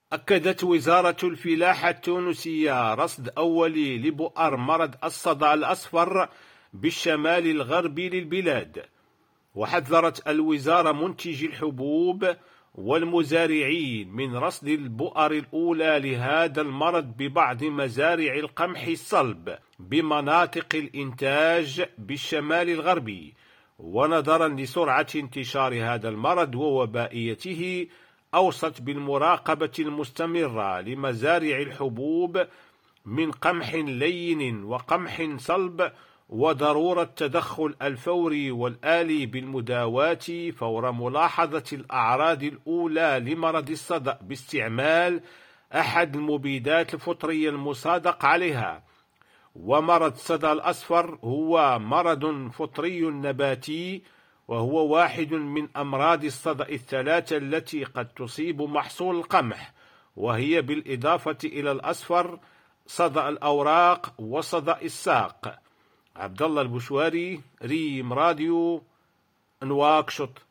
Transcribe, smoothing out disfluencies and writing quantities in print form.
أكدت وزارة الفلاحة التونسية رصد أولي لبؤر مرض الصدأ الأصفر بالشمال الغربي للبلاد. وحذرت الوزارة منتجي الحبوب والمزارعين من رصد البؤر الأولى لهذا المرض ببعض مزارع القمح الصلب بمناطق الإنتاج بالشمال الغربي. ونظرا لسرعة انتشار هذا المرض ووبائيته، أوصت بالمراقبة المستمرة لمزارع الحبوب من قمح لين وقمح صلب، وضرورة التدخل الفوري والآلي بالمداواة فور ملاحظة الأعراض الأولى لمرض الصدأ باستعمال أحد المبيدات الفطرية المصادق عليها. ومرض الصدأ الأصفر هو مرض فطري نباتي، وهو واحد من أمراض الصدأ الثلاثة التي قد تصيب محصول القمح، وهي بالإضافة إلى الأصفر صدأ الأوراق وصدأ الساق. عبد الله البشواري، ريم راديو، نواكشوط.